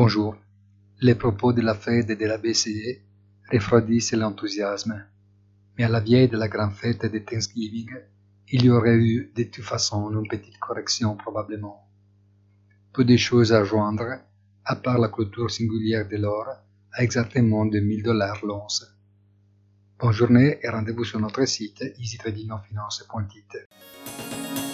Bonjour. Les propos de la Fed et de la BCE refroidissent l'enthousiasme, mais à la veille de la grande fête de Thanksgiving, il y aurait eu de toute façon une petite correction probablement. Peu de choses à joindre, à part la clôture singulière de l'or à exactement $2000 l'once. Bonne journée et rendez-vous sur notre site easytradingfinance.it.